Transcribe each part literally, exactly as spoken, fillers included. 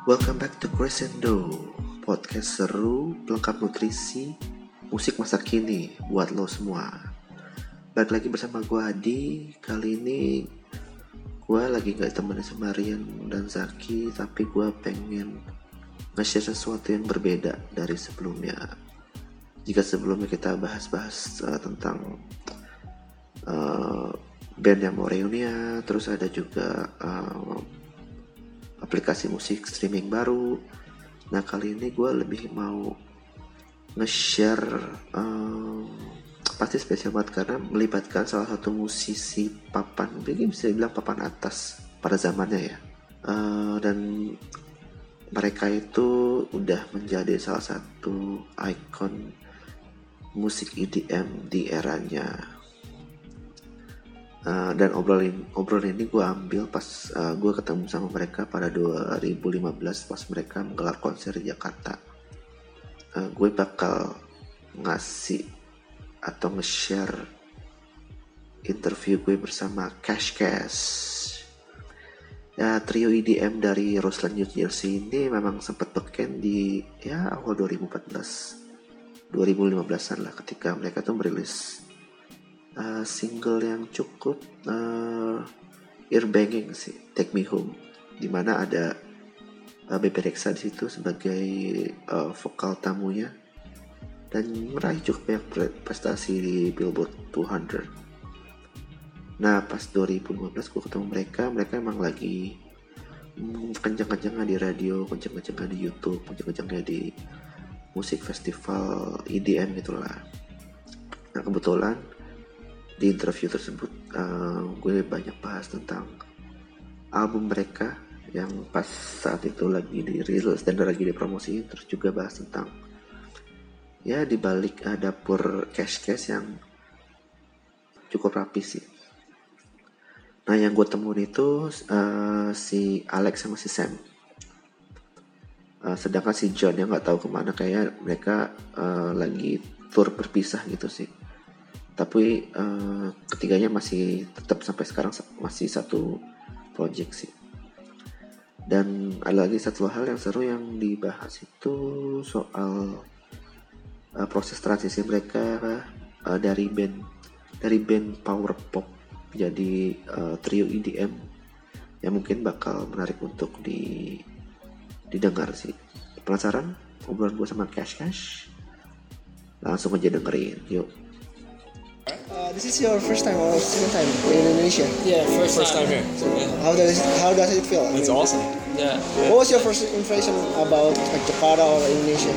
Welcome back to Crescendo, podcast seru, pelengkap nutrisi, musik masa kini buat lo semua. Balik lagi bersama gue Adi. Kali ini gue lagi gak ditemenin sama Rian dan Zaki, tapi gue pengen nge-share sesuatu yang berbeda dari sebelumnya. Jika sebelumnya kita bahas-bahas uh, tentang uh, band yang mau reunian, terus ada juga uh, aplikasi musik streaming baru. Nah kali ini gue lebih mau nge-share um, pasti spesial banget karena melibatkan salah satu musisi papan, mungkin bisa dibilang papan atas pada zamannya ya. Uh, dan mereka itu udah menjadi salah satu ikon musik E D M di eranya. Uh, dan obrolan obrolan ini gue ambil pas uh, gue ketemu sama mereka pada dua ribu lima belas pas mereka menggelar konser di Jakarta. Uh, gue bakal ngasih atau nge-share interview gue bersama Cash Cash. Ya, trio E D M dari Roseland, New Jersey ini memang sempat beken di ya awal dua ribu empat belas dua ribu lima belasan lah, ketika mereka tuh merilis Uh, single yang cukup uh, ear-banging sih, Take Me Home, dimana ada uh, Bebe Rexha di situ sebagai uh, vokal tamunya dan meraih cukup banyak prestasi di Billboard dua ratus. Nah pas dua ribu lima belas gue ketemu mereka, mereka emang lagi mm, kencang-kencangnya di radio, kencang-kencangnya di YouTube, kencang-kencangnya di musik festival E D M gitulah. Nah kebetulan di interview tersebut uh, gue banyak bahas tentang album mereka yang pas saat itu lagi dirilis dan lagi dipromosiin, terus juga bahas tentang ya dibalik uh, dapur Cash Cash yang cukup rapi sih. Nah yang gue temuin itu uh, si Alex sama si Sam, uh, sedangkan si John yang nggak tahu kemana, kayak mereka uh, lagi tour berpisah gitu sih. Tapi uh, ketiganya masih tetap sampai sekarang masih satu project sih. Dan ada lagi satu hal yang seru yang dibahas itu soal uh, proses transisi mereka uh, dari band dari band power pop jadi uh, trio E D M yang mungkin bakal menarik untuk di didengar sih. Penasaran obrolan gue sama Cash Cash? Langsung aja dengerin, yuk. Uh, this is your first time or second time in Indonesia? Yeah, first, First time time. here. So, yeah. How does how does it feel? I It's mean, awesome. Yeah. What was your first impression about like Jakarta or Indonesia?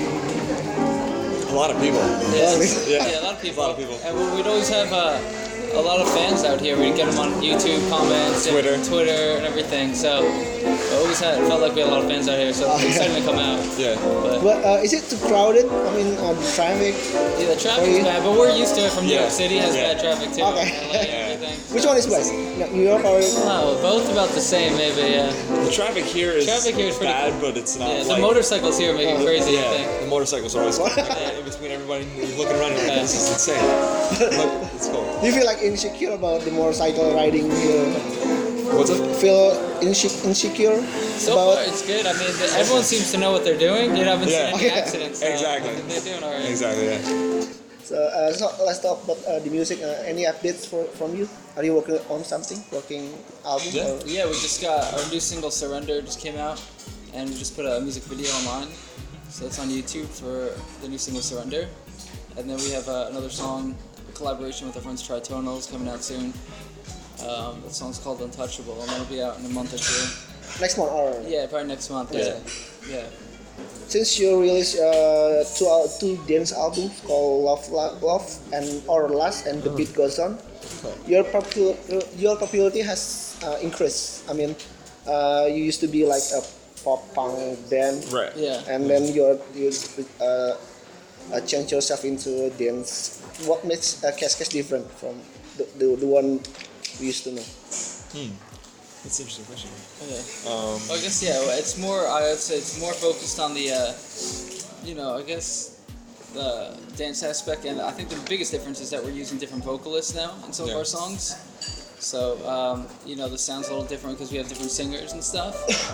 A lot of people. Yeah. Yeah. Yeah, a lot of people. A lot of people. And we- we'd always have uh, a lot of fans out here. We'd get them on YouTube comments, Twitter. and Twitter, and everything. So we always had felt like we had a lot of fans out here. So Oh, it's yeah. exciting to come out. Yeah. But But uh, is it too crowded? I mean, uh, the traffic. yeah, the traffic's Are you- bad, but we're used to it from New Yeah. York City. Has Yeah. bad traffic too. Okay. And, like, Yeah. everything. Which one is worse? New York or? Oh, both about the same, maybe. Yeah. The traffic here is Traffic here is pretty bad, but it's not Yeah. like... The motorcycles here make it Oh, crazy. I Yeah, think. the motorcycles are always yeah, in between everybody. You're looking around, you're like, this is insane. Look, it's cool. Do you feel like insecure about the motorcycle riding here? What's up? Feel inse- insecure So about? far, it's good. I mean, the, everyone seems to know what they're doing. You know, I haven't Yeah. seen any Okay. accidents. So Exactly. They're doing all right. Exactly, yeah. So, uh, so let's talk about uh, the music. Uh, any updates for, from you? Are you working on something? Working album? Yeah. Or? Yeah, we just got our new single "Surrender" just came out, and we just put a music video online. So it's on YouTube for the new single "Surrender," and then we have uh, another song, a collaboration with our friends Tritonals, coming out soon. Um, that song's called "Untouchable," and that'll be out in a month or two. Next one or? Yeah, probably next month. Yeah. Yeah. Since you released uh, two al- two dance albums called Love, Love, Love and Our Last and The Beat Goes On, your popular your popularity has uh, increased. I mean, uh, you used to be like a pop punk band, Right. Yeah. and then you're you uh, uh, change yourself into dance. What makes uh, Cash Cash different from the, the the one we used to know? Hmm. That's an interesting question. Yeah. Um, Well, I guess yeah. well, It's more. I would say it's more focused on the, uh, you know, I guess the dance aspect, and I think the biggest difference is that we're using different vocalists now in some Yeah. of our songs. So um, you know, the sound's a little different because we have different singers and stuff.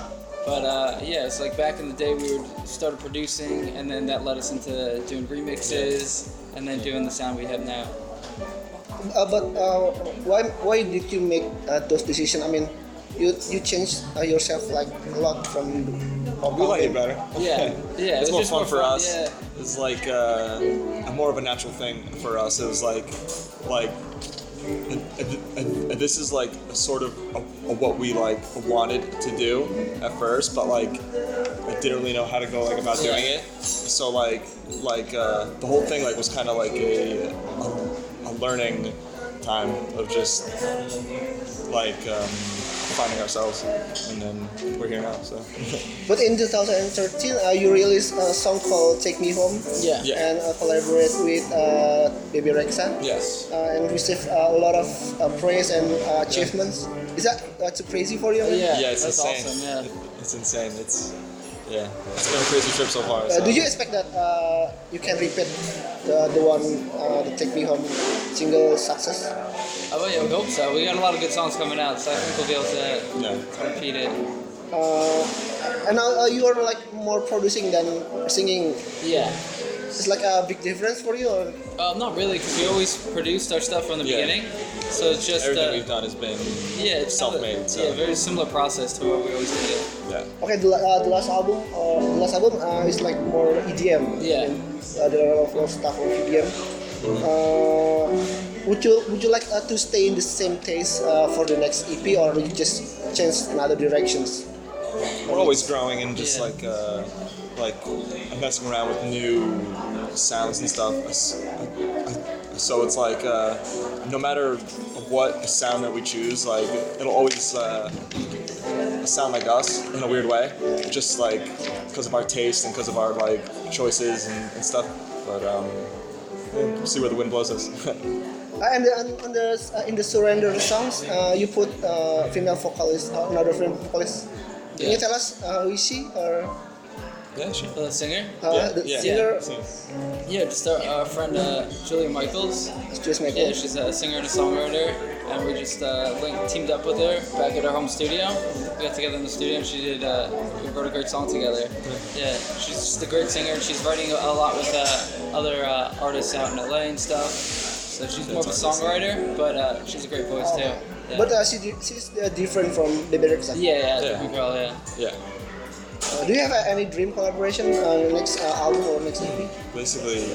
But uh, yeah, it's like back in the day we were started producing, and then that led us into doing remixes, and then doing the sound we have now. Uh, but uh, why why did you make uh, those decisions? I mean, you you changed uh, yourself like a lot from. We like it better. Yeah, yeah. It's it more was just fun for fun, us. Yeah. It's like uh, a more of a natural thing for us. It was like, like, uh, uh, uh, this is like a sort of a, a what we like wanted to do at first, but like I didn't really know how to go like about doing it. So like, like uh, the whole thing like was kind of like a, a a learning time of just like. Um, finding ourselves, and then we're here now. So. But in twenty thirteen, uh, you released a song called "Take Me Home," Yeah. Yeah. and uh, collaborate with uh, Baby Rexha, Yes. uh, and received uh, a lot of uh, praise and uh, achievements. Is that uh, too crazy for you? Yeah, Yeah, it's that's insane. awesome. Yeah. It's insane. It's yeah. It's been a crazy trip so far. Uh, So. do you expect that uh, you can repeat the the one uh, the "Take Me Home" single success? Oh, well, yeah, we hope so. We got a lot of good songs coming out, so I think we'll be able to Yeah. repeat it. Uh, and now uh, you are like more producing than singing. Yeah. It's like a big difference for you, or Uh, not really, because we always produced our stuff from the Yeah. beginning. So it's just Everything uh, we've done has been yeah, it's kinda- self-made. So. Yeah, very similar process to what we always did. Yeah. okay, the, uh, the last album, uh, the last album uh, is like more E D M. Yeah. And, uh, there are a lot of stuff on E D M. Uh, would you would you like uh, to stay in the same taste uh, for the next E P, or you just change in other directions? We're always growing and just Yeah. like uh, like messing around with new sounds and stuff. So it's like uh, no matter what sound that we choose, like it'll always uh, sound like us in a weird way, just like because of our taste and because of our like choices and, and stuff. But um, we'll see where the wind blows us. Uh, and, the, and on the uh, in the Surrender songs, uh, you put uh, female vocalist, uh, another female vocalist. Can you Yeah. tell us uh, who is she, or Yeah, sure. The singer? uh, Yeah, the yeah. singer? Yeah, just our, our friend uh, Julia Michaels. Just make Yeah, she's a singer and a songwriter, and we just uh, linked, teamed up with her back at our home studio. We got together in the studio, and she did. Uh, we wrote a great song together. Yeah, she's just a great singer. She's writing a, a lot with uh, other uh, artists out in L A and stuff. So she's more of a songwriter, but uh, she's a great voice too. Yeah. But uh, she, di- she's uh, different from Baby Rexha. yeah, yeah, Yeah. different girl. Yeah. Yeah. Uh, do you have uh, any dream collaboration on the next uh, album or next E P? Basically,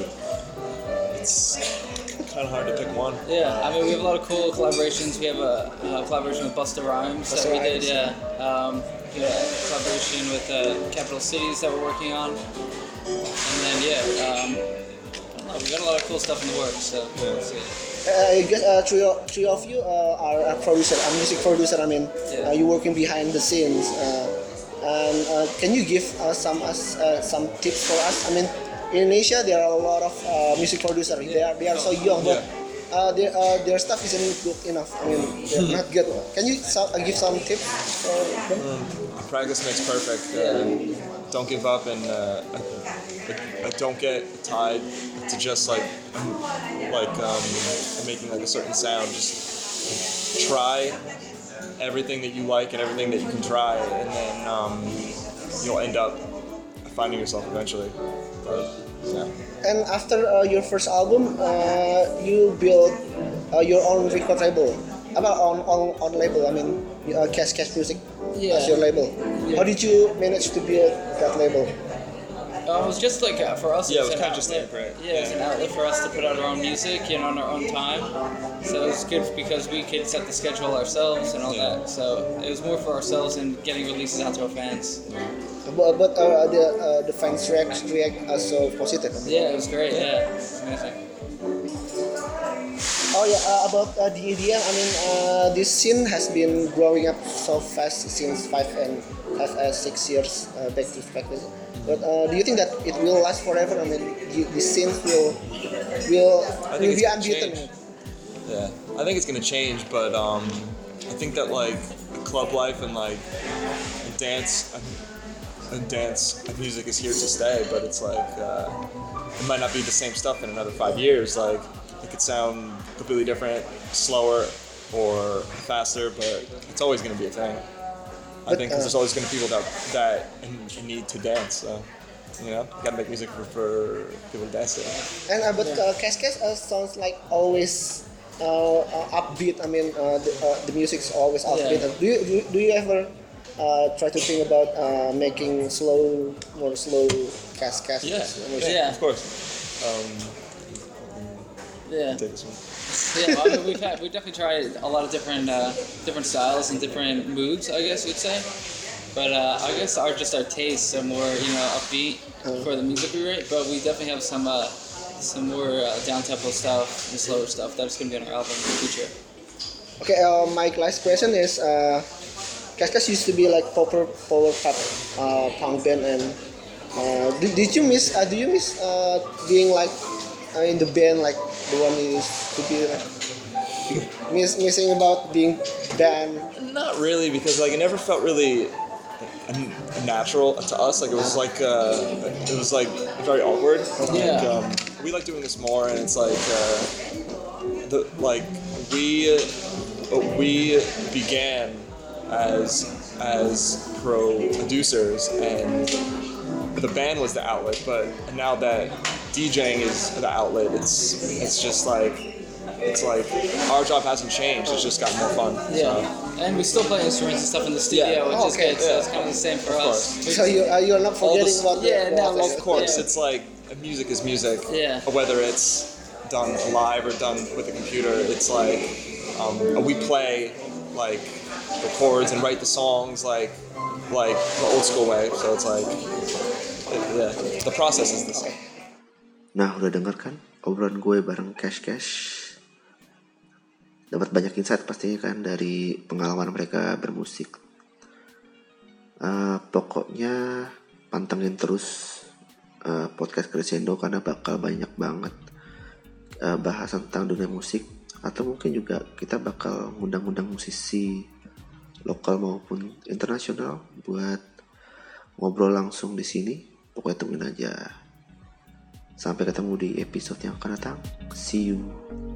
it's kind of hard to pick one. Yeah, I mean, we have a lot of cool collaborations. We have a, a collaboration with Busta Rhymes Busta that we did, Rhymes. yeah. Um, we had a collaboration with uh, Capital Cities that we're working on. And then, yeah, um, I don't know, we got a lot of cool stuff in the works, so we'll see. Uh, I guess uh, three, o- three of you uh, are a producer, a music producer. I mean, Yeah. uh, you're working behind the scenes. Uh, and uh, can you give uh, some us uh, some tips for us? I mean, in Asia there are a lot of uh, music producers. They are they are so young, but uh, their uh, their stuff isn't good enough. I mean, they're not good. Can you so, uh, give some tips for them? Practice makes perfect. Uh, don't give up and uh, uh, uh, don't get tied to just like like um, making like a certain sound. Just try everything that you like and everything that you can try, and then um, you'll end up finding yourself eventually. But, yeah. And after uh, your first album, uh, you built uh, your own record label. About on on, on label. I mean, uh, Cash Cash Music Yeah. as your label. How did you manage to build that label? Uh, it was just like uh, for us. Yeah, it was an kinda just outlet. like, right, Yeah, it was yeah. an outlet for us to put out our own music, you know, on our own time. So it was good because we could set the schedule ourselves and all Yeah. that. So it was more for ourselves and getting releases out to our fans. But, but uh, the uh, the fans react react as so positive. Yeah, it was great. Yeah, it's amazing. Oh yeah, uh, about uh, the E D M. I mean, uh, this scene has been growing up so fast since five and five uh, six years uh, back to back. But uh, do you think that it will last forever? I mean, the, the scene will will I will think it's be gonna unbeaten. change. Yeah, I think it's gonna change, but um, I think that like club life and like dance and dance music is here to stay. But it's like uh, it might not be the same stuff in another five years. Like it could sound completely different, slower or faster, but it's always gonna be a thing. I But, think because uh, there's always going to be people that that need to dance. So, you know, you got to make music for, for people to dance to. And uh, but uh, Cash Cash uh, sounds like always uh, uh, upbeat. I mean, uh, the, uh, the music is always upbeat. Yeah. Do you do, do you ever uh, try to think about uh, making slow, more slow Cash Cash? Yeah, music? Yeah. of course. Um, Yeah. take this one. Yeah, well, I mean, we've had we definitely tried a lot of different uh, different styles and different moods, I guess you'd say. But uh, I guess our just our tastes are more you know upbeat for the music we write. But we definitely have some uh, some more uh, down tempo stuff and slower stuff that's gonna be on our album in the future. Okay, uh, my last question is, uh, Cash Cash used to be like power power pop uh, punk band, and uh, did, did you miss? Uh, do you miss uh, being like uh, in the band, like the one you used to be like? Miss, missing about being band. Not really, because like it never felt really n- natural to us. Like it was like uh, it was like very awkward. Yeah. Like, um, we like doing this more, and it's like uh, the like we uh, we began as as producers, and the band was the outlet. But now that DJing is the outlet, it's it's just like. It's like our job hasn't changed. It's just got more fun. Yeah, So. and we still play instruments and stuff in the studio, Yeah. which Oh, is okay. good. So Yeah. it's kind of the same for Of us. course. We So you uh, you're not All forgetting the- about yeah, the no, process. Of course, Yeah. it's like music is music. Yeah. Whether it's done live or done with a computer, it's like um, we play like the chords and write the songs like like the old school way. So it's like it, yeah, the process is the same. Nah, udah denger kan obrolan gue bareng Cash Cash. Dapat banyak insight pastinya kan dari pengalaman mereka bermusik. Uh, pokoknya pantengin terus uh, podcast Crescendo karena bakal banyak banget uh, bahas tentang dunia musik, atau mungkin juga kita bakal ngundang-undang musisi lokal maupun internasional buat ngobrol langsung di sini. Pokoknya tungguin aja. Sampai ketemu di episode yang akan datang. See you.